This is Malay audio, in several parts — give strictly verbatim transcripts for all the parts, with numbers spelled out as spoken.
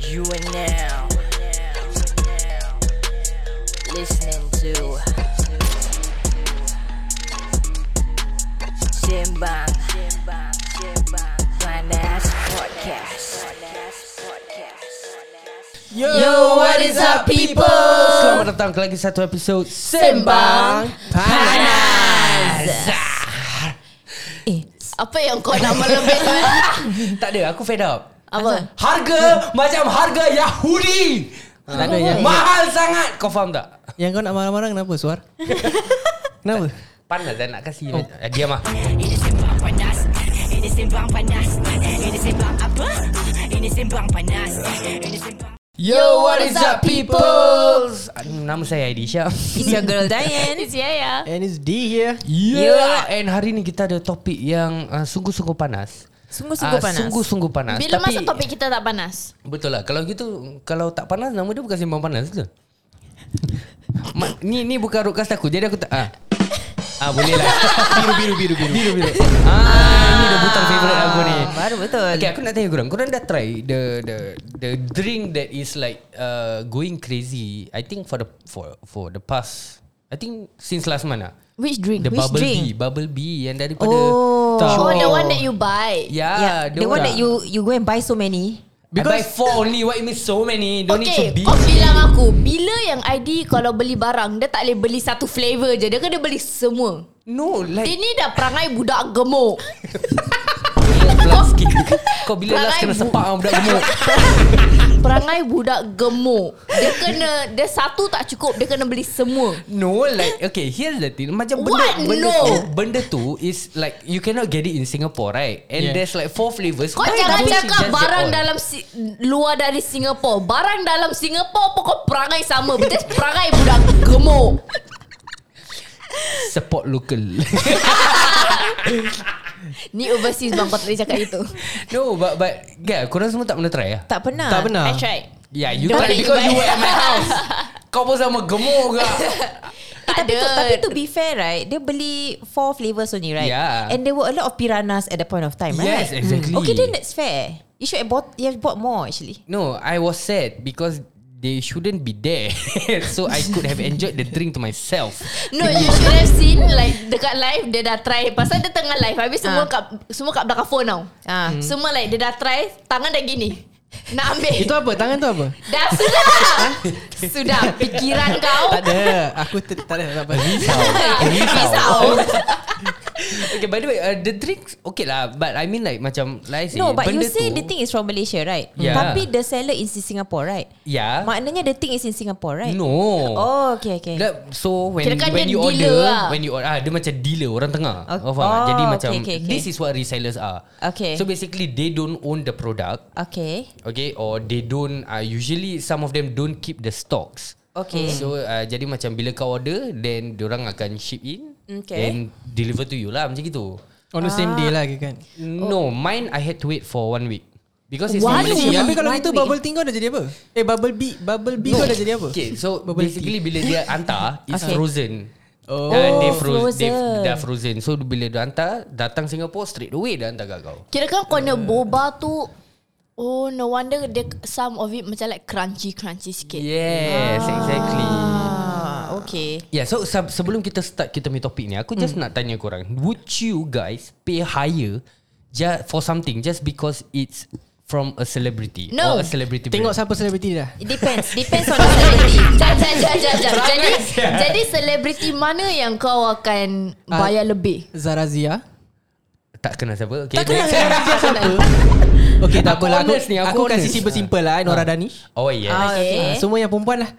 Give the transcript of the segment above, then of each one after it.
You are now listening to Simbang Panas Podcast. Yo, Yo, what is up people? Selamat datang ke lagi satu episod Sembang Panas. Eh, apa yang kau nak melebih? Tak ada, aku fed up. Apa? Harga macam harga Yahudi. Tak ada yang Mahal sangat. Kau faham tak? Yang kau nak marah-marah kenapa, Suar? Kenapa? Panas dan nak kasih oh. eh, Diam lah. Ini Simbang Panas. Ini Simbang Panas. Ini Simbang apa? Ini Simbang Panas. Ini Simbang. Yo, what is up people? Nama saya Aidisha. It's your girl Diane. It's Yaya. And it's D here. Yeah. And hari ni kita ada topik yang uh, sungguh-sungguh panas. Sungguh-sungguh uh, panas. Sungguh-sungguh panas. Bila Tapi, masa topik kita tak panas? Betul lah. Kalau gitu, kalau tak panas, nama dia bukan Simbang Panas ke? Ma, ni ni bukan roadcast aku. Jadi aku tak ah. Ah boleh lah. Biru biru biru biru. Biru biru. Ah ni dah butang favorite aku ni. Baru betul. Okay, aku nak tanya korang. Korang dah try the the the drink that is like uh, going crazy. I think for the for for the past I think since last month lah. Which drink? The Which bubble drink? bee, bubble bee yang daripada Oh, Show. oh the one that you buy. Yeah, The one that you you go and buy so many. Because I buy four only. What you mean so many? Don't need to Okay, be. kau bilang aku, bila yang I D kalau beli barang, dia tak boleh beli satu flavor je. Dia kena beli semua. No, like Dia ni dah perangai budak gemuk. last sikit. Kau bila Perangai last kena bu- sepak dengan budak gemuk? Perangai budak gemuk. Dia kena, dia satu tak cukup, dia kena beli semua. No, like okay, here's the thing. Macam benda What? benda No. tu, benda tu is like you cannot get it in Singapore, right? And Yeah. there's like four flavors. Kau Why jangan don't you cakap just get barang all? dalam si, luar dari Singapore. Barang dalam Singapore pun kau perangai sama. Betul perangai budak gemuk. Support local. Ni overseas bang, kau tak boleh cakap itu. No, but but yeah, korang semua tak pernah try lah. Tak pernah. Tak pernah. I tried. Yeah, you Don't try let because you you were at my house. Kau pun sama gemuk ke? Tak tapi, ada. to, tapi to be fair, right, dia beli four flavors only, right? Yeah. And there were a lot of piranhas at the point of time, right? Yes, exactly. Okay, then that's fair. You should have bought. You have bought more actually. No, I was sad because they shouldn't be there. So I could have enjoyed the drink to myself. No, you should have seen like dekat live dia dah try. Pasal dia tengah live, habis semua Ah. kat semua kat belakang phone tau. Ah. Semua like dia dah try, tangan dah gini. Nak ambil. Itu apa? Tangan tu apa? Dah sudah. Sudah pikiran kau. Tak ada. Aku t- tak ada. Tak apa. Risau. Okay, by the way, uh, the drinks okay lah, but I mean like macam like I say, No, but you benda say tu, the thing is from Malaysia, right? Yeah. Tapi the seller is in Singapore, right? yeah. Maknanya the thing is in Singapore, right? No. Oh, okay, okay. That, so when Kirakan when dia you dealer order, lah. when you order, ah, dia macam dealer orang tengah. Okay. Oh, faham tak? Oh, Jadi okay, macam okay, okay. this is what resellers are. Okay. So basically they don't own the product, Okay. okay, or they don't. Uh, usually some of them don't keep the stocks. Okay. So uh, jadi macam bila kau order, then diorang akan ship in, Okay. and deliver to you lah macam gitu. On the same day lah kan? No, mine I had to wait for one week because it's One from week? Malaysia. Tapi kalau One gitu week. bubble tea kau dah jadi apa? Eh bubble bee Bubble bee kau dah jadi apa? Okay, so Bubble basically bila dia hantar, it's Okay. frozen. Oh. Uh, they Oh, froze, they frozen. dah frozen. So bila dia hantar, datang Singapore straight away dia hantar kat kau. Kirakan kau nak boba tu. Oh, no wonder dia, some of it macam like crunchy-crunchy sikit. Yes, exactly. Ah, okay. Yeah, so se- sebelum kita start kita punya topik ni, aku just nak tanya korang, would you guys pay higher just for something just because it's from a celebrity No. or a celebrity Tengok brand? siapa selebriti dah. It depends. Depends on the celebrity. Jap, jap, jap, jap, jap. Jadi, Perangai siap. jadi selebriti mana yang kau akan bayar lebih? Zarazia. Tak kenal siapa. Okay, Tak kenal next. Zarazia siapa? Okay, tak Aku apalah. Aku, honest ni, aku aku kasih honest. simple-simple lah. eh, Nora Danish. Oh yes. Ah, okay. Ah, semua yang perempuan lah.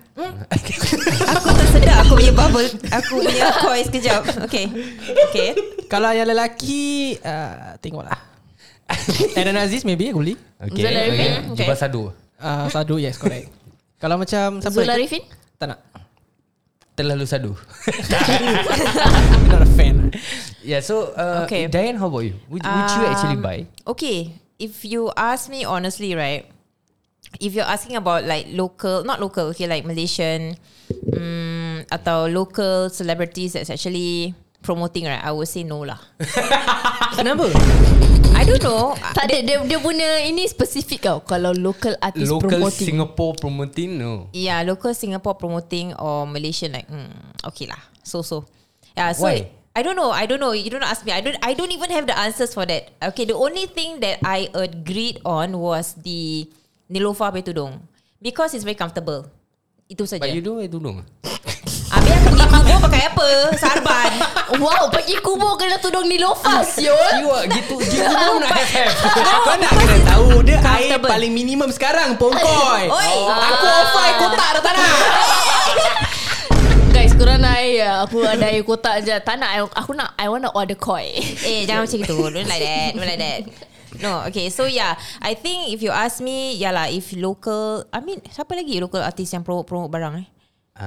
Aku tersedak aku punya bubble. Aku punya koi sekejap. Okay. Okay. Kalau yang lelaki, uh, tengoklah. Aaron Aziz maybe aku beli. Okay, Zul Arifin? okay. Okay. Jubah Sadu. Uh, Sadu, yes, correct. Kalau macam siapa? Zul lagi? Arifin? Tak nak. Terlalu Sadu. I'm not a fan. Yeah, so uh, Okay. Diane, how about you? Would, would you actually Um, buy? Okay. If you ask me honestly, right? If you're asking about like local, not local, okay, like Malaysian, um, atau local celebrities that's actually promoting, right? I would say no lah. Kenapa? I I don't know. Tak ada dia, dia punya ini spesifik tau. Kalau local artist Local promoting. Singapore promoting no. Yeah, local Singapore promoting or Malaysian like hmm, okay lah. So so. Yeah, so Why? I don't know. I don't know. You don't ask me. I don't. I don't even have the answers for that. Okay, the only thing that I agreed on was the Neelofa pakai tudung because it's very comfortable. Itu saja. But you don't wear tudung. Habis aku pergi kubur pakai apa? Sarban. Wow, pergi kubur kena tudung Neelofa siul. You are gitu gitu pun nak have. Kau nak kena tahu dia air Comfortable. paling minimum sekarang Pongkoi. Oi. Aku offer air kotak dah tak nak. Guys, korang nak air. Aku ada air kotak je. Tak nak. Aku nak. I want to order koi. Eh, jangan macam itu. Don't like that. Don't like that. No, okay. So yeah, I think if you ask me, yeah lah. If local, I mean, siapa lagi local artist yang promote promote barang eh?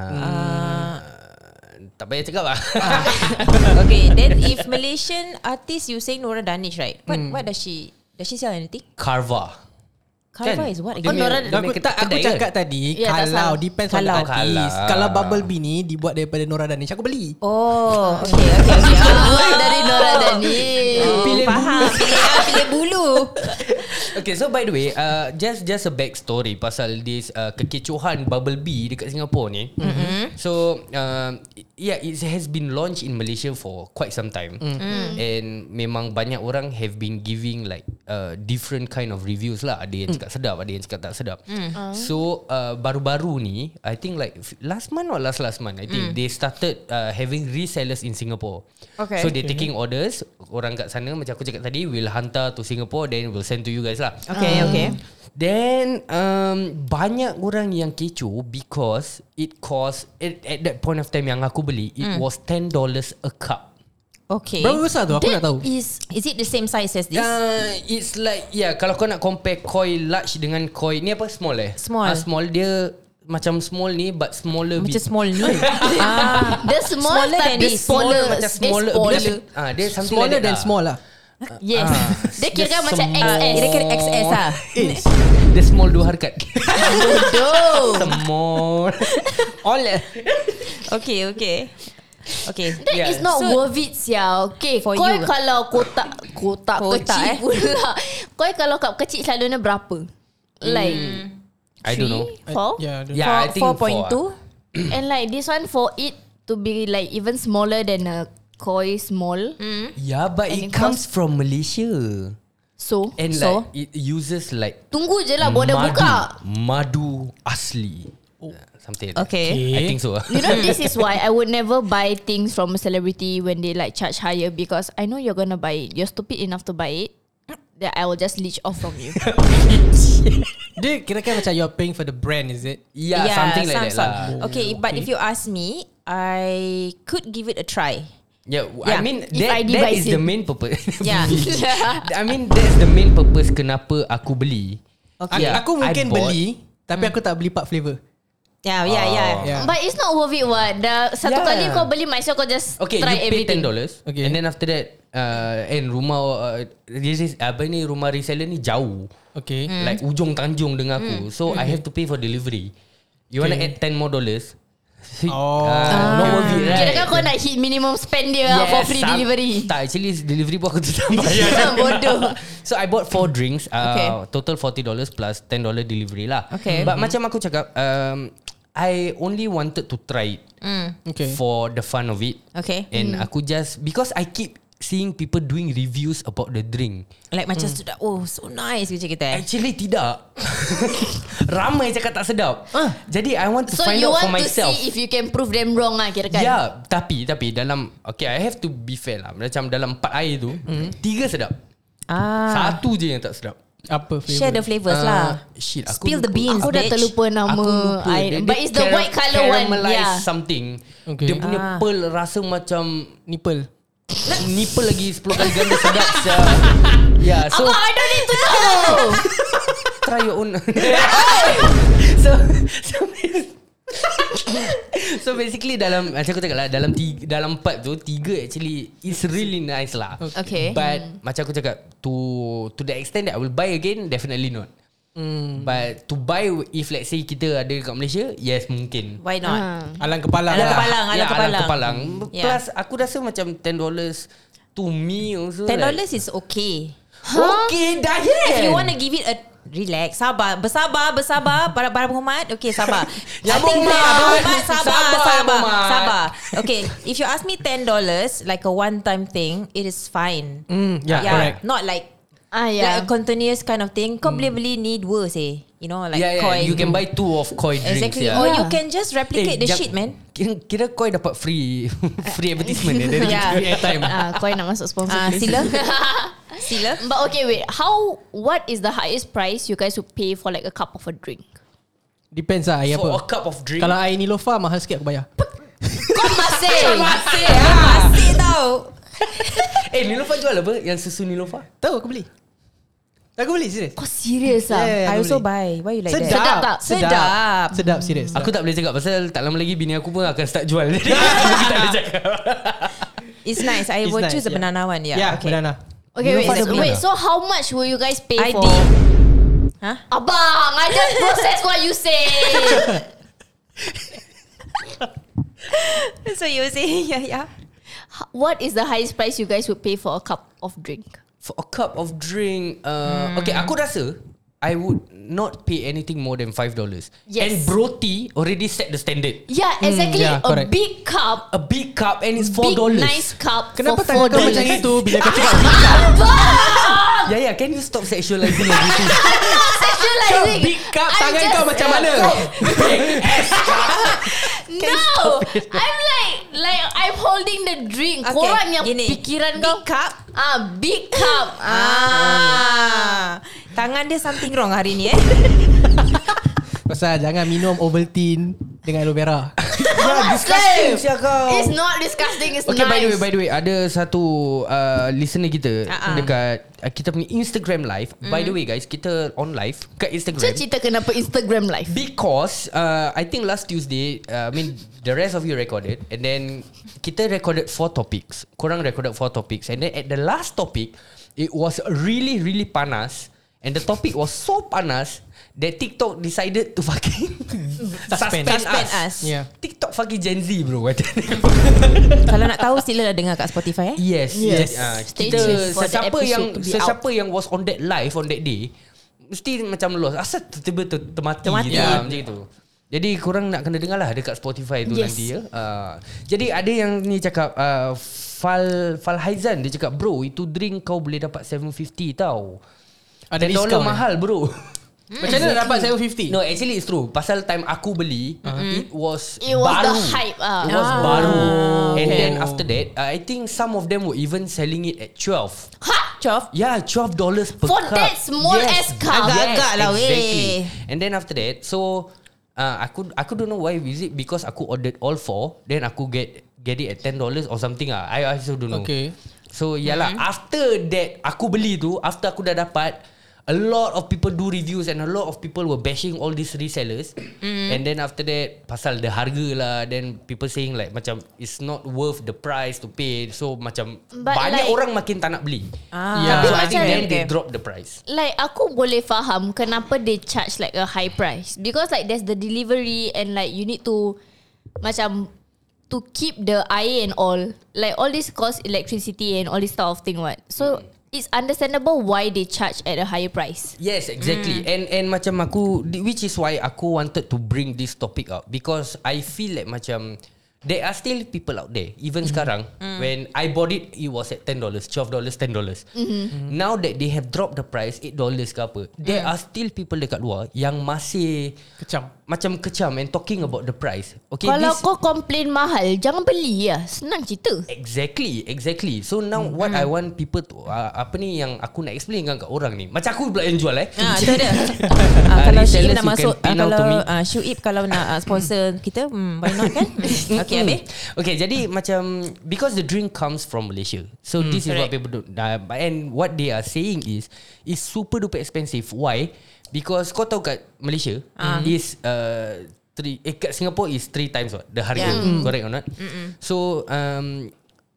Uh, tak payah cakap lah. Okay, then if Malaysian artist, you say Nora Danish, right? What Hmm. what does she does she sell anything? Carva. Carva Kan? is what Dia again? punya- Nora- dia Aku, punya tak, aku kedai cakap kan? tadi Ya, tak kalau salah. depends on the Kalau. artist. Kalau. Kalau Bubble Bee ni dibuat daripada Nora Danish, aku beli. Oh, okay, okay, okay. Ah, dari Nora Dani. Oh, Pilih faham. Pilih, pilih bulu. Okay, so by the way, uh, just just a back story pasal this uh, kekecohan Bubble Bee dekat Singapore ni. Mm-hmm. So, uh, yeah, it has been launched in Malaysia for quite some time, mm-hmm. and memang banyak orang have been giving like uh, different kind of reviews lah. Ada yang cakap sedap, ada yang cakap tak sedap. Mm. So, uh, baru-baru ni, I think like last month or last last month, I think mm. they started uh, having resellers in Singapore. Okay. So they taking orders. Orang kat sana macam aku cakap tadi, will hantar to Singapore, then will send to you guys lah. Okay, okay. Then um, banyak orang yang kecoh because it cost at, at that point of time yang aku beli, it Mm. was ten dollars a cup. Okay. Berapa besar tu? Aku nak tahu. Is Is it the same size as this? Uh, it's like yeah, kalau kau nak compare koi large dengan koi ni apa small eh? Small. Ah, small dia macam small ni but smaller Macam bit. small ni. ah. the small Smaller than tapi this. smaller. macam smaller, eh, smaller. Ah, dia something Smaller like that than lah. small lah. Yes. Ah, Dia kira dia macam small. X S. Kira kira X S ah. Dia small dua harakat. Bodoh. Small. All Okay, okay. Okay. That Yeah. is not So- worth it sia. Okay, For kau you. kalau kotak kotak, Kotak, kecil eh. pula. Kau kalau cup kecil selalunya berapa? Like I don't know. three, four? Yeah, the- Yeah, I think four point two. And like this one for it to be like even smaller than a koi small. Yeah, but And it it comes from Malaysia. So, And so like it uses like tunggu je lah border madu, buka. madu asli. Oh. Something like Okay. that. I think so. You know, this is why I would never buy things from a celebrity when they like charge higher because I know you're gonna buy it. You're stupid enough to buy it. That I will just leech off from you. Dia kira-kira macam you're paying for the brand, is it? Yeah, something like some that sort. lah. Okay, but if you ask me, I could give it a try. Yeah, Yeah. I mean If that, I that devise is the it. main purpose. Yeah. I mean that's the main purpose kenapa aku beli. Okay. Yeah, Aku mungkin I bought- beli, tapi aku tak beli part flavor. Yeah, yeah, yeah. Yeah. But it's not worth it what. Dah satu Yeah. kali kau beli, might as well kau just Okay, try you pay everything. ten dollars, Okay. and then after that, uh, and rumah uh, this apa ni rumah reseller ni jauh, Okay. like ujung Tanjung dengan aku, so I have to pay for delivery. You wanna Okay. add ten more dollars? Oh. uh, not worth it, right? Kira kan kau nak hit minimum spend dia yes, for free some- delivery. Tak, actually delivery pun aku tetap bayar. Bodoh. So I bought four drinks, uh, Okay. total forty dollars plus ten dollars delivery lah. Okay. But macam aku cakap, um, I only wanted to try it Okay. for the fun of it. Okay. And aku just, because I keep seeing people doing reviews about the drink. Like macam sudah, oh so nice macam kita. eh. Actually tidak. Ramai cakap tak sedap. Jadi I want to So find you out for want to myself. see if you can prove them wrong lah kira kan. Ya, yeah, tapi tapi dalam okay, I have to be fair lah. Macam dalam empat air tu, tiga sedap. Ah. Satu je yang tak sedap. Apa flavor? Share the flavors Ah, lah. Shit, aku Spill the lupa. beans, Aku dah bitch. terlupa nama Aku lupa. air. Dia- But dia it's the cara- white colour one. caramelized Yeah. something. Okay. Dia punya Ah. pearl rasa macam Nipple. nipple lagi sepuluh kali ganda sedap. sia. Yeah, so Abang, I don't need to know. try your own. so so so basically dalam macam aku cakap lah, dalam tiga, dalam empat tu tiga actually is really nice lah. Okay. But hmm. macam aku cakap, to to the extent that I will buy again, definitely not. Hmm. But to buy, if let's say kita ada kat Malaysia, yes mungkin. Why not? Ah. Alang kepala. Alang lah. kepala. Alang yeah, kepalang. alang kepalang. Yeah. Plus aku rasa macam ten dollars to me also Ten like, dollars is okay. Okay, Dayan. If you want to give it a relax, sabar, bersabar, bersabar, para para Muhammad. Okay, sabar. Ya, I think Muhammad. that- Muhammad, sabar, Sabar, sabar, Muhammad. sabar. Okay, if you ask me ten dollars, like a one-time thing, it is fine. Mm, yeah, correct. Not like Ah, yeah. like a continuous kind of thing. Kau boleh beli ni dua seh. You know, like yeah, yeah, koi. you can buy two of koi drinks. Exactly. Yeah. Or Yeah. you can just replicate the jap- shit, man. Kira, kira koi dapat free free advertisement eh, dari Yeah. free airtime. Ah, kau nak masuk sponsor Ah, please. sila. Sila. But okay, wait. How? What is the highest price you guys would pay for like a cup of a drink? Depends lah air For a apa. cup of drink. Kalau air Nilofa mahal sikit aku bayar. Kau masih. Masih ah. Masih tau. Eh, Nilofa jual apa? Yang susu Nilofa? Tahu aku beli. Aku beli serius. Kau serius ah? Yeah, yeah, I aku also beli. buy. Why you like Sedap. that? Sedap tak? Sedap. Sedap serius. Aku tak boleh cakap pasal tak lama lagi bini aku pun akan start jual. Jadi aku tak boleh cakap. It's nice. I It's will nice, choose the yeah. banana one. Yeah. Yeah, okay. banana. Okay, wait. Nilofa ada So, banana. wait. So how much will you guys pay I for? did. Huh? Abang, I just process what you say. So you were saying yeah, yeah. What is the highest price you guys would pay for a cup of drink? For a cup of drink, uh, okay, aku rasa I would not pay anything more than five dollars. Yes. And Broti already set the standard. Yeah, exactly. yeah, a correct. big cup, A big cup and it's four big dollars. nice cup Kenapa for tangan four kau dollars. macam itu bila kau cakap Yeah, yeah. Can you stop sexualizing everything? Sexualizing. big cup, I'm tangan just- kau macam mana? No, I'm like like I'm holding the drink. Okay, Korang yang gini. pikiran Big kau cup. ah big cup. Ah. Tangan dia something wrong hari ni eh. Pasal jangan minum Ovaltine dengan aloe vera. Yeah, disgusting siya kau. It's not disgusting. It's Okay, nice. by the way, by the way, ada satu uh, listener kita Uh-uh. dekat uh, kita punya Instagram live. Mm. By the way, guys, kita on live kat Instagram. Cerita kenapa Instagram live? Because uh, I think last Tuesday, uh, I mean the rest of you recorded, and then kita recorded four topics. Korang recorded four topics, and then at the last topic, it was really really panas, and the topic was so panas that TikTok decided to fucking suspend, Suspend us. us. Yeah. TikTok fucking Gen Z bro. Kalau nak tahu sila dah dengar kat Spotify eh. Yes, Yes. yes. Uh, Stay kita tuned for the sesiapa episode yang to be sesiapa yang was on that live on that day mesti macam lost. Asal tiba-tiba ter- termati, Termati. gitu, yeah. macam itu. Jadi korang nak kena dengar lah dekat Spotify tu Yes. nanti ya. Uh, jadi ada yang ni cakap uh, Fal Fal Haizan dia cakap bro itu drink kau boleh dapat seven fifty tau. Ada ten dollars discount, mahal bro. Macam mana nak dapat seven fifty? No, actually it's true. Pasal time aku beli, uh-huh. it was It was baru. the hype, ah. It was Ah. baru. And Okay. then after that, uh, I think some of them were even selling it at twelve. Ha? Twelve. Yeah, twelve dollars per For cup. that small ass cup? Agak-agak lah, weh. exactly. And then after that, so uh, aku aku don't know why is it because aku ordered all four, then aku get get it at ten dollars or something ah. I also don't know. Okay. So yalah, mm-hmm. after that aku beli tu, after aku dah dapat, a lot of people do reviews and a lot of people were bashing all these resellers. Mm. And then after that, pasal the harga lah, then people saying like macam it's not worth the price to pay. So macam But banyak like- orang makin tak nak beli. Ah. Yeah. So Tapi I think macam- then they okay. drop the price. Like aku boleh faham kenapa they charge like a high price because like there's the delivery and like you need to macam to keep the air and all like all this cost electricity and all this stuff of thing what so it's understandable why they charge at a higher price. Yes, exactly. Mm. And and macam aku, which is why aku wanted to bring this topic up because I feel like macam there are still people out there even mm. sekarang mm. when I bought it, it was at ten dollars, twelve dollars, ten dollars. Mm-hmm. Now that they have dropped the price eight dollars ke apa, there Mm. are still people dekat luar yang masih Kecam. macam kecam and talking about the price. Okay, Kalau this, kau complain mahal, jangan beli lah. Senang cerita. Exactly, exactly. So now mm. what I want people to uh, apa ni yang aku nak explain kan kat orang ni. Macam aku pula yang jual eh. Ah, tu dia. Ah, kalau resellers Syuib nak you can masuk, pay ah, now to kalau me. ah, Syuib kalau nak ah, sponsor kita, hmm, why not kan? Okay, habis. Okay, jadi macam because the drink comes from Malaysia, so mm, this is what people do. Uh, and what they are saying is is super duper expensive. Why? Because kau tahu kat Malaysia uh. is uh, three. Eh, kat Singapore is three times what the harga. Yeah. Mm. Correct or not? Mm-mm. So um,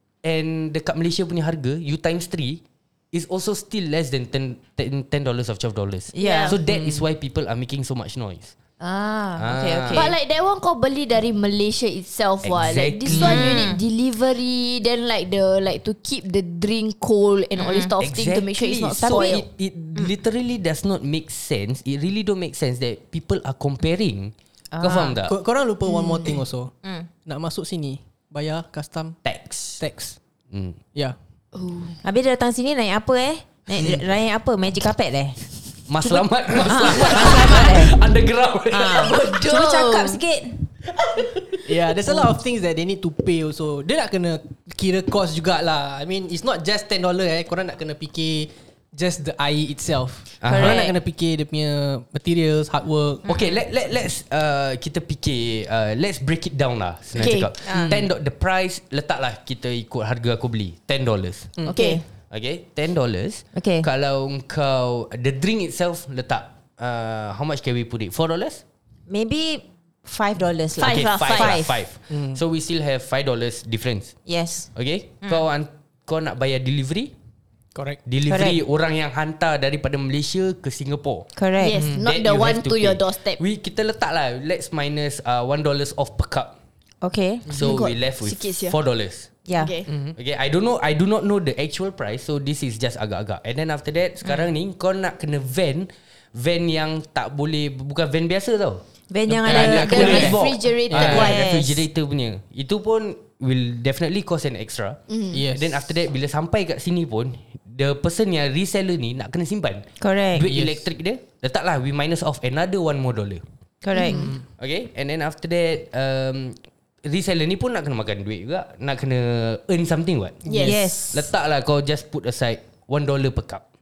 and dekat Malaysia punya harga you times three is also still less than ten dollars of twelve dollars. Yeah. So that mm. is why people are making so much noise. Ah, okay, okay. But like that one kau beli dari Malaysia itself what. Like this Exactly. one you need delivery, then like the like to keep the drink cold and all this stuff thing to make sure it's not So spoiled. it, it literally does not make sense. It really don't make sense that people are comparing. Kau faham tak? Kor- Korang lupa one more thing also. Nak masuk sini bayar custom Tax. tax. Hmm. Yeah. Habis dia datang sini naik apa eh? Naik, naik apa? Magic carpet eh? Mas selamat, mas Ah, selamat. selamat eh? Underground. Ah, cuba cakap sikit. Yeah, there's a lot of things that they need to pay also. Dia nak kena kira cost jugalah. I mean, it's not just ten dollars eh. Korang nak kena fikir just the air itself. Correct. Korang nak kena fikir dia punya materials, hard work. Okay, let let let's uh, kita fikir, uh, let's break it down lah. Senang Okay. cakap. ten do- the price letaklah kita ikut harga aku beli ten dollars. Okay. Okay, ten dollars. Okay. Kalau kau the drink itself letak uh, how much can we put it? four dollars? Maybe five dollars lah. Five Okay, lah, five. five. lah, five. So we still have five dollars difference. Yes. Okay, kau an- kau nak bayar delivery? Correct. Delivery orang yang hantar daripada Malaysia ke Singapore. Correct. Yes, Mm. not That the you one have to your pay. doorstep. We kita letak lah. Let's minus uh, one dollars off per cup. Okay. So Oh my we God, left with sikit sia. four dollars. Yeah. Okay. Okay, I don't know. I do not know the actual price. So this is just agak-agak. And then after that, sekarang ni kau nak kena van, van yang tak boleh, bukan van biasa tau. Van yang Ah, ada dia the cooler box. refrigerated Ah, one. Yes. refrigerator punya. Itu pun will definitely cost an extra. Yes. Then after that, bila sampai kat sini pun, the person yang reseller ni nak kena simpan. Correct. Duit Yes. elektrik dia, letaklah we minus off another one more dollar. Correct. Okay, and then after that, um, reseller ni pun nak kena makan duit juga, nak kena earn something what. Yes. Yes. Letaklah kau just put aside one dollar per cup.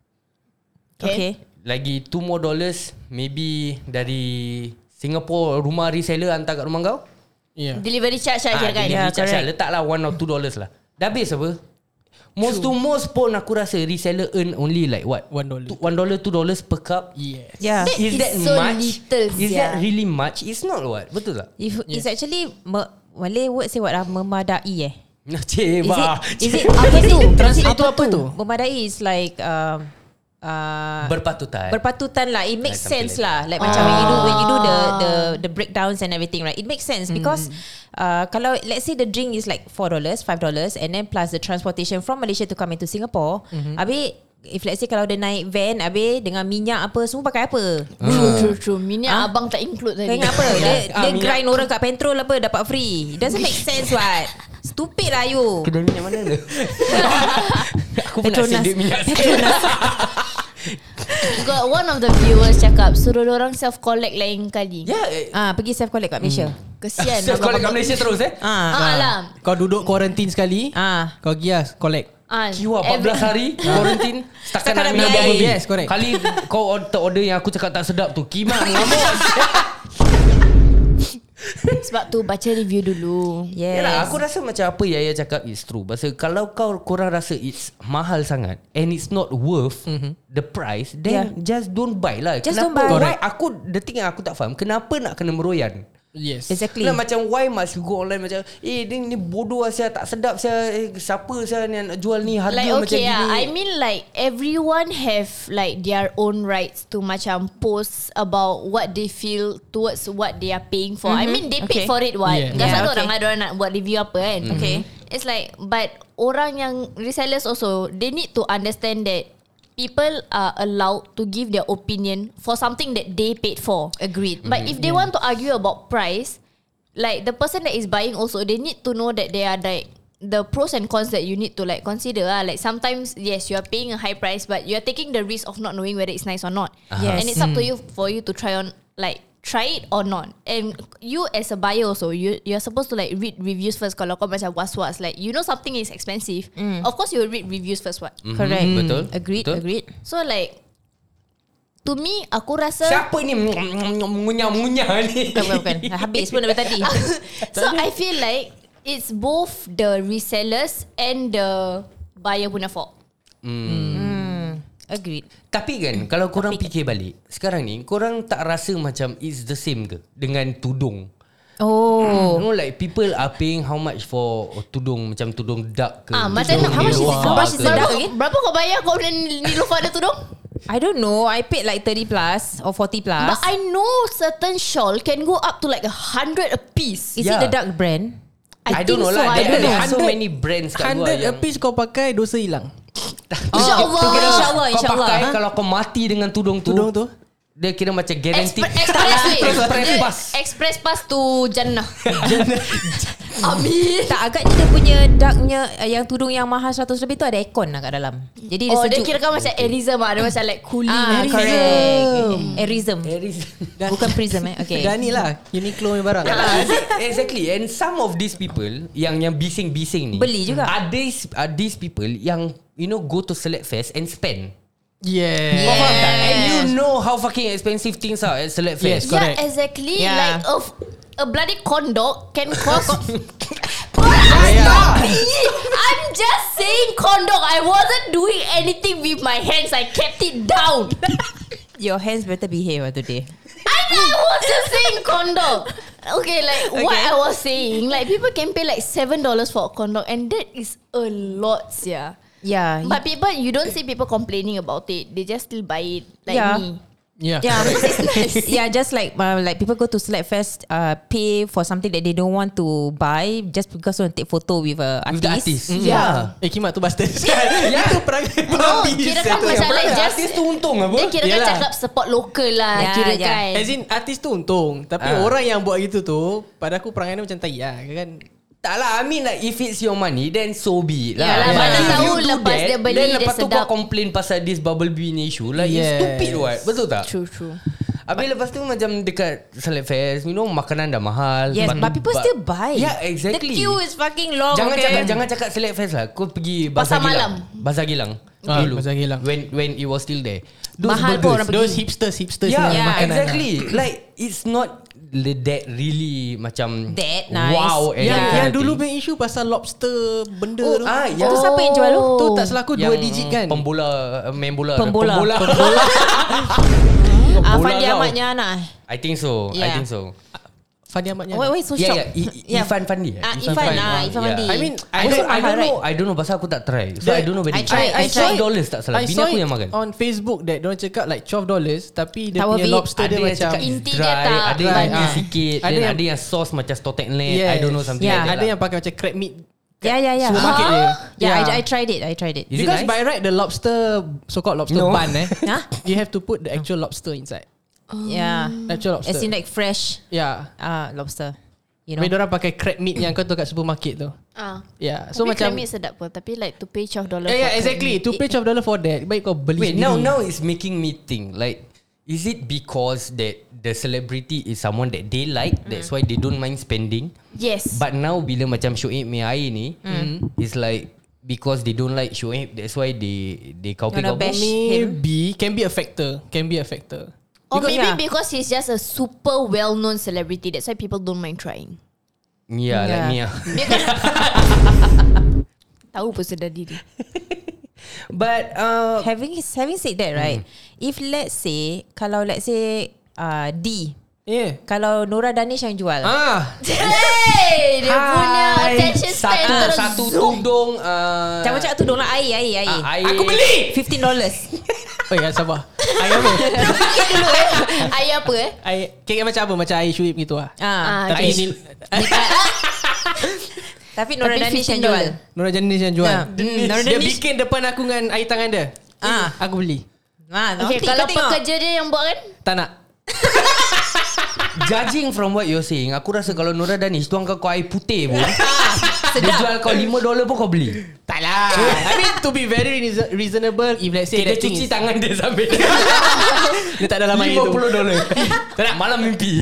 Okay. Lagi two more dollars, maybe dari Singapore rumah reseller hantar kat rumah kau. Yeah. Delivery charge lah kira kan. delivery Yeah, charge correct. lah. Letaklah one or two dollars lah. Dah habis apa? Most to most pun aku rasa reseller earn only like what? One dollar. Two- One dollar, two dollars per cup. Yes. Yeah. That Is is that so much? little, Is sia. that really much? It's not what? Betul tak? If it's actually me- Malay word say what ah? Memadai eh. Cik, Is bah. it, is it apa tu? Translate Is it tu apa tu? Memadai is like um, uh, Berpatutan. berpatutan lah. It makes Like sense something lah. Like macam when you do when you do the the the breakdowns and everything, right? It makes sense because uh, kalau let's say the drink is like four dollars, five dollars, and then plus the transportation from Malaysia to come into Singapore. Habis if let's say kalau dia naik van, habis dengan minyak apa semua pakai apa? True, true, true. Minyak Ah? abang tak include Kau tadi. ingat apa? Dia, Ah, dia minyak. grind orang kat petrol apa dapat free. It doesn't make sense what. Stupid lah you. Kedai minyak mana tu? Aku pun nak Petronas. save duit minyak. Got one of the viewers cakap suruh orang self collect lain kali. Ya, eh, Ah, pergi self collect kat Malaysia. Kesian. self collect kat abang-abang. Malaysia terus eh. Ah. Ah lah. Kau duduk quarantine sekali, Ah. kau pergi lah collect. Ah, Kiwa empat belas hari quarantine. Setakat Setakat nak nak minum minum air. air. Yes, correct. Kali kau order, order yang aku cakap tak sedap tu, kimak mengamuk. sebab tu baca review dulu. Yes. Yalah, aku rasa macam apa Yaya cakap is true. Pasal kalau kau korang rasa it's mahal sangat and it's not worth mm-hmm. the price, then Yeah. just don't buy lah. Just kenapa, don't buy. Why, Correct. aku the thing yang aku tak faham, kenapa nak kena meroyan? Yes. Exactly. Nah, macam why must you go online macam eh ni, ni bodoh saya tak sedap saya eh, siapa saya ni nak jual ni harga Like macam okay gini. yeah, I mean like everyone have like their own rights to macam post about what they feel towards what they are paying for. I mean they paid Okay. for it what. Yeah. Kan Yeah, satu okay. orang ada orang nak buat review apa kan. Okay. It's like but orang yang resellers also they need to understand that people are allowed to give their opinion for something that they paid for. Agreed. But if they want to argue about price, like the person that is buying also, they need to know that they are like the pros and cons that you need to like consider. Ah, like sometimes yes, you are paying a high price, but you are taking the risk of not knowing whether it's nice or not. Yes. And it's up to you for you to try on like try it or not. And you as a buyer also, you you're supposed to like read reviews first. Kalau kau macam was-was, like you know something is expensive, of course you will read reviews first. What? Mhm, Correct. Betul. Agreed. Betul. Agreed. So like to me, aku rasa. Siapa ni mengunyah-mengunyah ni? Bukan, bukan, bukan. Habis pun dari tadi. So I feel like it's both the resellers and the buyer punya fault. Hmm. Agreed. Tapi kan kalau korang fikir balik, sekarang ni korang tak rasa macam it's the same ke dengan tudung? Oh. You know like people are paying how much for tudung macam tudung duck ke? Ah, macam tudung how much is it? Niloufar How much is ke? it? Sedap Berapa, again? berapa kau bayar kau beli Niloufar ada tudung? I don't know. I paid like thirty plus or forty plus. But I know certain shawl can go up to like a hundred a piece. Is Yeah. it the dark brand? I, think don't know so, lah. I There, don't there know. are so many brands kat luar Hundred a yang piece kau pakai dosa hilang. InsyaAllah. tu kira InsyaAllah, kau insyaAllah. pakai Ha? kalau kau mati dengan tudung tu. Tudung tu. Dia kira macam guaranteed. Expre- Express way. Express Dia pass. Express pass to Jannah. Amin. Tak, agaknya dia punya darknya uh, yang tudung yang mahal seratus lebih tu ada aircon lah kat dalam. Jadi dia Oh, dia sejuk. kira kan macam Airism ah. Dia macam like cooling. Ah, Airism. correct. Airism. Aries. Bukan prism eh. Okay. Dah ni lah Uniqlo punya barang. Exactly. And some of these people yang yang bising-bising ni Beli juga. Are these are these people yang you know go to Select Fest and spend. Yeah. Yeah. Kau faham tak? And you know how fucking expensive things are at Select Yes, Fest. correct. Yeah, exactly. Yeah. Like a, a bloody corn dog can cost. Yeah. I'm just saying corn dog. I wasn't doing anything with my hands. I kept it down. Your hands better behave ah today. I, I was just saying corn dog. Okay, like what Okay. I was saying, like people can pay like seven dollars for a corn dog, and that is a lot, yeah. Yeah. But people, you don't see people complaining about it. They just still buy it, like Yeah. me. Yeah. Yeah, It's nice. yeah, just like uh, like people go to Select Fest, uh, pay for something that they don't want to buy just because they want to take photo with a With the artist. artist. Yeah. Eh kimak tu bastard. Ya. Itu perangai No, babi. kira kan satu macam yang like perangai. just Artis tu untung apa? dia kira kan Yelah. cakap support local lah, Yeah, kira yeah. kan. As in artis tu untung. Tapi Ah. orang yang buat gitu tu, pada aku perangai dia macam tai lah kan. Tak lah, I mean like if it's your money then so be it lah. Yalah, mana If tahu you do lepas that, dia beli, then dia lepas tu sedap. kau complain pasal this bubble bean issue. Like it's Yes. stupid what? Betul tak? True, true. Habis lepas tu macam dekat Select Fest, you know makanan dah mahal. Yes, Lepas tu but people ba- still buy. Yeah, exactly. The queue is fucking long. Jangan okay? cakap jangan cakap Select Fest lah. Kau pergi Pasar Bazar Gilang. malam. Bazar Gilang. Ah, dulu. Bazar Gilang. When when it was still there. Mahal pun orang pergi. Those hipsters hipsters Yeah, yang Yeah, makanan exactly. Like it's not le- that really macam That nice. wow. and Yang, that yang kind of dulu thing. punya isu pasal lobster benda Oh, tu. ah, yang Tu siapa yang jual tu? Tu tak salah aku dua digit kan. Pembola, uh, main bola. Pembola. Pembola. Ah, Bola Fandi kau. Ahmadnya anak. I think so. I Yeah. think so. Fandi Ahmadnya. Wait, wait, so Yeah, shocked. yeah. I, I, Yeah. Ifan Fandi. eh? Ah, Ifan Ifan, Fandi. ah, Ifan Yeah. Fandi. I mean, I don't, Also I mahal, don't know. right? I don't know pasal aku tak try. So I don't know whether I tried, I tried. five dollars tak salah. I Bini saw aku it yang makan. on Facebook that diorang cakap like twelve dollars tapi dia Tak punya worth it. lobster Ada dia yang macam cakap it's Inti dia dry, tak ada yang banyak. ada sikit, Ada dan yang- ada yang sauce macam stock net. Yes. I don't know something Yeah. like that. ada lah. yang pakai macam crab meat Yeah, yeah, yeah. supermarket Ah. dia. Yeah, I, I tried it. I tried it. Is it Because nice? by right the lobster so called lobster No. bun eh Huh? you have to put the actual lobster inside. Yeah. Actual lobster. As in like fresh yeah. uh, lobster. You You know. know, orang pakai crab meat yang kau tahu kat supermarket tu. Ah. Yeah. So Tapi macam crab meat sedap pun. Tapi like to pay twelve dollars. Yeah, yeah, exactly. To pay twelve dollars for that, baik kau beli Wait, sendiri. now now it's making me think like, is it because that the celebrity is someone that they like, that's why they don't mind spending? Yes. But now bila macam Shoaib punya air ni, it's like because they don't like Shoaib, that's why they they kau Gonna kau bash. Maybe can be a factor. Can be a factor. Or Because- maybe yeah. because he's just a super well-known celebrity. That's why people don't mind trying. Yeah, like Yeah. me ah. Because tahu pun sedar diri. But uh, Having having said that, right? If let's say kalau let's say uh, D, Yeah. kalau Nora Danish yang jual. Ah, Hey, dia punya attention span satu terus satu zoom. tudung uh, Jangan cakap tudung lah, air, air, air. Ah, air. Aku beli fifteen dollars. oh ya sabar. Air apa? dulu eh. Air apa eh? Air kek macam apa? Macam air Shuib gitu ah. Ah, Tapi okay. ini tapi Nora Tapi Danish yang fifteen jual. Nora Janis yang jual. Ah, mm, Nora Dia Danish. bikin depan aku dengan air tangan dia. Ah. Aku beli. Ah, Okay, nanti kalau kau tengok. pekerja dia yang buat kan? Tak nak. Judging from what you're saying, aku rasa kalau Nora Danish tuang kau air putih pun, dia jual kau lima dolar pun kau beli. Tak lah. I mean to be very reason- reasonable if let's say Okay, dia that thing cuci is, tangan dia sambil dia tak dalam air tu. lima puluh dolar. Tak nak, malam mimpi.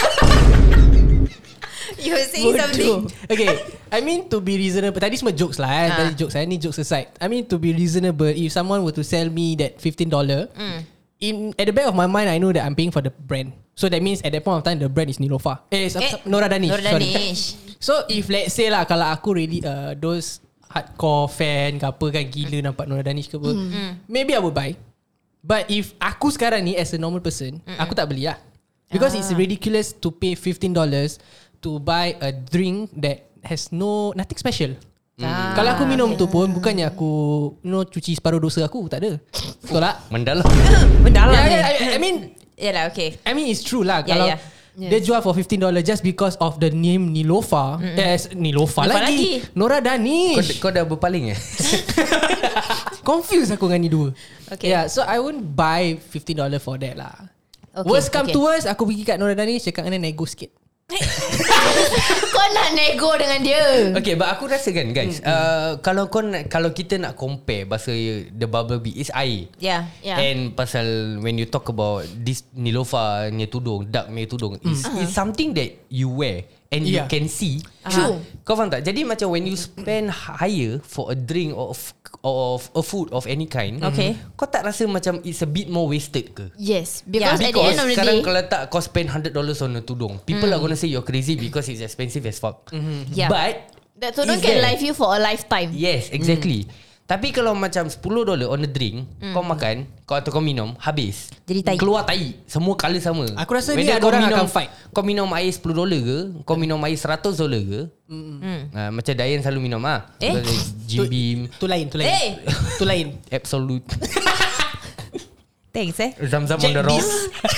You were saying something. Okay, I mean to be reasonable. Tadi semua jokes lah eh. Ah. Tadi jokes lah. Ni jokes aside. I mean to be reasonable, if someone were to sell me that fifteen dollars, in at the back of my mind, I know that I'm paying for the brand. So that means at that point of time, the brand is Nilofa. Eh, Eh, Nora Danish. Nora sorry. Danish. So if let's say lah, kalau aku really uh, those hardcore fan ke apa kan, gila nampak Nora Danish ke apa, maybe I would buy. But if aku sekarang ni as a normal person, aku tak beli lah. Because it's ridiculous to pay fifteen dollars to buy a drink that has no nothing special. Ah, Kalau aku minum tu pun bukannya aku you know, cuci separuh dosa aku. Tak ada. Betul tak? Mendalam. Mendalam Yeah, ni. yeah, I, I mean Yalah, okay. I mean it's true lah. Yeah, Kalau yeah. dia jual for fifteen dollars just because of the name Nilofa. Mm-hmm. Eh, Nilofa Nilofa lagi. lagi. Nora Kau, Danish. kau dah berpaling eh? Confused aku dengan ni dua. Okay. Yeah, so I won't buy fifteen dollars for that lah. Okay, Worst come okay. to worst, aku pergi kat Nora Danish cakap dengan dia nego sikit. Kau nak nego dengan dia. Okay, but aku rasa kan guys, Hmm. uh, kalau kau nak, kalau kita nak compare bahasa the bubble bee is air. Yeah. Yeah. And pasal when you talk about this Nilofa ni tudung, duck ni tudung, is Hmm. is something that you wear and Yeah. you can see. True. Kau faham tak? Jadi macam when you spend higher for a drink of of a food of any kind, Okay. kau tak rasa macam it's a bit more wasted ke? Yes, because Yeah, at the end of the sekarang day, kalau tak kau spend one hundred dollars on a tudung, people are gonna say you're crazy because it's expensive as fuck. Yeah. But that tudung is can there. live you for a lifetime. Yes, exactly. Tapi kalau macam ten dollars on a drink, kau makan, kau atau kau minum, habis. Jadi tai. Keluar tai. Semua colour sama. Aku rasa ni Whether ada kau orang minum, akan fight. Kau minum air ten dollars ke, kau minum air one hundred dollars ke. Mm. Uh, macam Dayan selalu minum ah. Eh? Jim Beam, Tu lain, tu lain. Eh. Tu lain. Absolute. Thanks eh. Zam-zam on the rocks.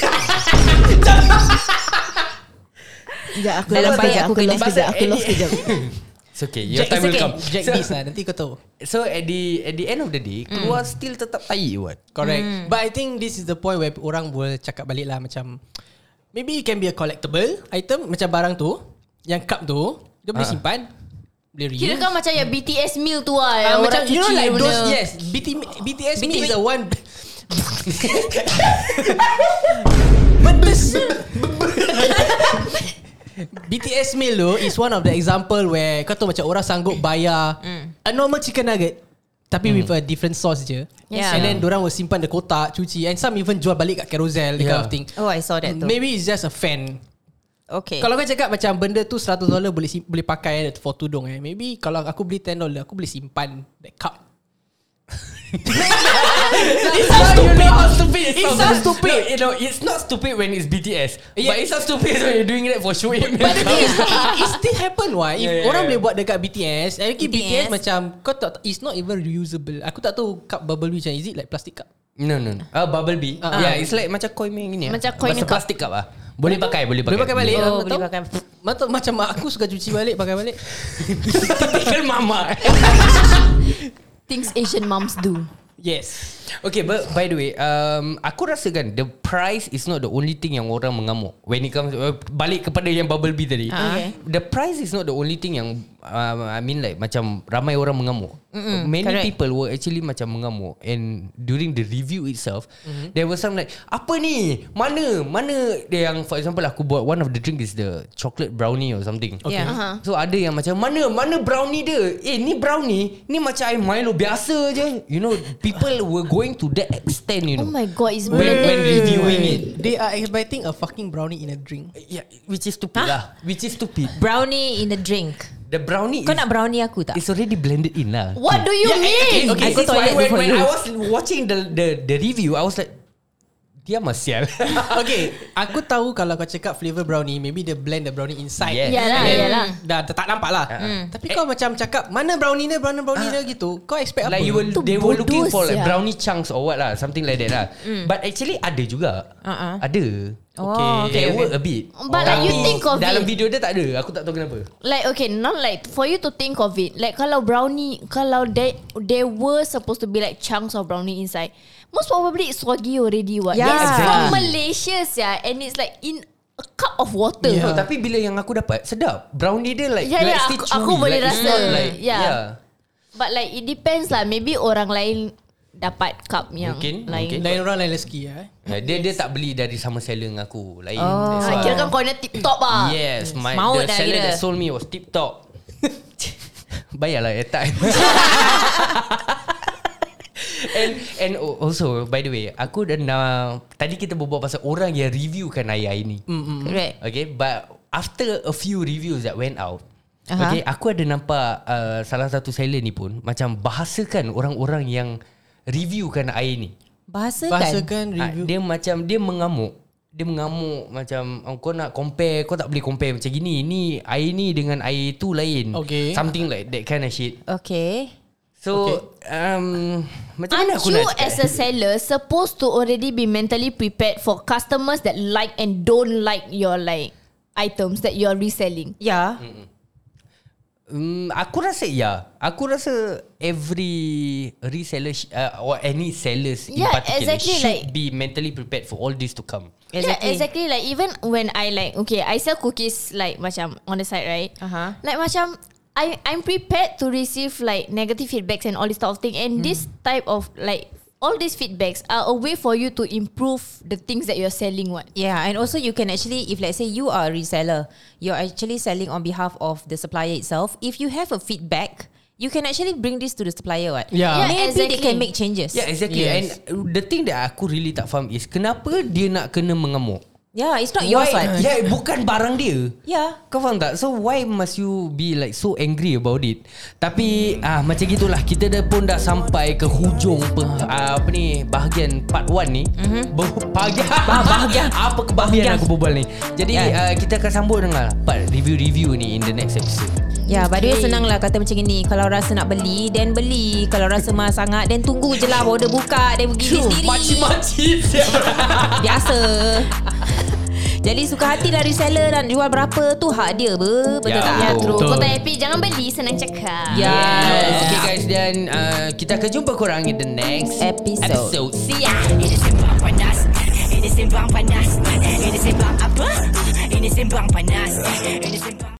Sekejap aku Dalam lost baik sekejap. aku Aku kena lost sekejap. Aku lost sekejap. It's okay. Your Jack, time will okay. come. Jack So, this lah. Nanti kau tahu. so at the at the end of the day, keluar still tetap tai what? Correct. But I think this is the point where orang boleh cakap balik lah macam maybe it can be a collectible item macam barang tu, yang cup tu dia boleh Ah. simpan, boleh reuse. Kira kan macam yang B T S meal tu lah. Ah, Yang macam orang you know cuci like benda. those yes B T B T S me is the one. But this B T S meal tu is one of the example where kau tahu macam orang sanggup bayar a normal chicken nugget tapi with a different sauce je. Yeah. And then dorang will simpan the kotak, cuci, and some even jual balik kat Carousel, that kind Yeah. of thing. Oh, I saw that too. Maybe it's just a fan. Okay. Kalau kau cakap macam benda tu one hundred dollars boleh sim- boleh pakai for tudung eh. Maybe kalau aku beli ten dollars aku boleh simpan that cup. It sounds stupid. You know how stupid it, It sounds stupid. No, you know, it's not stupid when it's B T S. Yeah. But it sounds stupid when you're doing that for show. But the thing is, it, it still happen why. If Yeah, yeah, orang yeah. boleh buat dekat B T S, lagi B T S, B T S macam kau tak, it's not even reusable. Aku tak tahu cup bubble macam is it like plastic cup? No, no, no. Ah, bubble bee. Ah. Yeah, it's like macam koi main gini. Macam ah. koi Macam cup. plastic cup ah. Boleh pakai, boleh pakai. Boleh pakai balik. Oh, Aku boleh tahu. pakai. Macam macam mak aku suka cuci balik, pakai balik. Typical mama. Things Asian moms do. Yes. Okay, but by the way, um, aku rasa kan the price is not the only thing yang orang mengamuk. When it comes uh, balik kepada yang bubble bee tadi. Okay. The price is not the only thing yang uh, I mean like macam ramai orang mengamuk. Mm-mm, Many correct. people were actually macam mengamuk, and during the review itself, mm-hmm. there was some like apa ni? Mana? Mana dia yang for example aku buat one of the drink is the chocolate brownie or something. Okay. Yeah. Uh-huh. So ada yang macam mana mana brownie dia? Eh ni brownie, ni macam air Milo biasa je. You know, people were going to that extent, you Oh know. my god, it's When- blended. when reviewing it. They are expecting a fucking brownie in a drink. Yeah, which is stupid lah. Which is stupid. Brownie in the drink. The brownie Kau is, nak brownie aku tak? it's already blended in lah. What do you Yeah, mean? Okay, okay. I go This is why toilet when, before when you. I was watching the the the review, I was like, dia masial. Okay, aku tahu kalau kau cakap flavor brownie, maybe they blend the brownie inside. Yes. Yalah, And then yalah. Dah tak nampak lah. Hmm. Tapi kau macam cakap mana brownie dia, brownie brownie dia gitu. Kau expect Like apa? you were, Tu they were looking bodoh for like sia. brownie chunks or what lah, something like that lah. But actually ada juga. Uh-uh. Ada. Oh, There okay, were okay. a bit. But like you Tapi think of dalam it. video dia tak ada. Aku tak tahu kenapa. Like okay, not like for you to think of it. Like kalau brownie, kalau there there were supposed to be like chunks of brownie inside. Most probably it's soggy already. What? Yeah. It's Exactly. from Malaysia, yeah, and it's like in a cup of water. No, tapi bila yang aku dapat sedap. Brownie dia like Yeah, like yeah, still aku- chewy. aku boleh like, it's rasa. not like, Yeah. yeah. But like it depends lah. Maybe orang lain dapat cup yang Mungkin, lain. mungkin. Lain orang lain rezeki ya. Eh? Uh, dia dia tak beli dari sama seller dengan aku. Lain. Oh. That's Ah, why. kira kan corner tip top ah. Yes, my Maut the dah seller kira. that sold me was tip top. Bayarlah airtime. And and also by the way, aku dah nak, tadi kita berbual pasal orang yang reviewkan air-air ni. Correct. Okay, but after a few reviews that went out, Aha. okay, aku ada nampak uh, salah satu seller ni pun macam bahasakan orang-orang yang reviewkan air ni. Bahasakan. Bahasakan Ah, review. dia macam dia mengamuk. dia mengamuk macam oh, kau nak compare, kau tak boleh compare macam gini. Ni air ni dengan air tu lain. Okay. Something like that kind of shit. Okay. So Okay. um, macam mana Aren't aku you nak cakap? as a seller supposed to already be mentally prepared for customers that like and don't like your like items that you're reselling? Yeah. Um, aku rasa ya. Aku rasa every reseller sh- uh, or any sellers in Yeah, particular exactly, should like- be mentally prepared for all this to come. Yeah, exactly. Like even when I like okay, I sell cookies like macam on the side, right? Uh-huh. Like macam I I'm prepared to receive like negative feedbacks and all this type of thing. And this type of like all these feedbacks are a way for you to improve the things that you're selling. What? Yeah, and also you can actually, if let's say you are a reseller, you're actually selling on behalf of the supplier itself. If you have a feedback, you can actually bring this to the supplier. What? Yeah. Yeah, Maybe exactly. they can make changes. Yeah, exactly. Yes. And the thing that aku really tak faham is kenapa dia nak kena mengamuk? Yeah, it's not yours. Why? What? Yeah, bukan barang dia. Yeah. Kau faham tak? So why must you be like so angry about it? Tapi ah macam gitulah, kita dah pun dah sampai ke hujung pe, ah, apa ni bahagian part one ni. Mm-hmm. Bahagian bahagian. apa kebahagiaan aku berbual ni. Jadi Yeah. uh, kita akan sambut dengan part review-review ni in the next episode. Ya, yeah, by the way senang lah kata macam ni. Kalau rasa nak beli, then beli. Kalau rasa mahal sangat, then tunggu je lah border buka. Then pergi sendiri. Makcik-makcik. Biasa. Jadi suka hati lah reseller nak jual berapa tu hak dia ber. Betul Ya, tak? Ya, true. Betul. Kau tak happy, jangan beli, senang cakap. Ya. Yes. Okay guys, dan uh, kita akan jumpa korang in the next Episode. episode. See ya. Ini sembang panas. Ini sembang panas. Ini sembang apa? Ini sembang panas. Ini sembang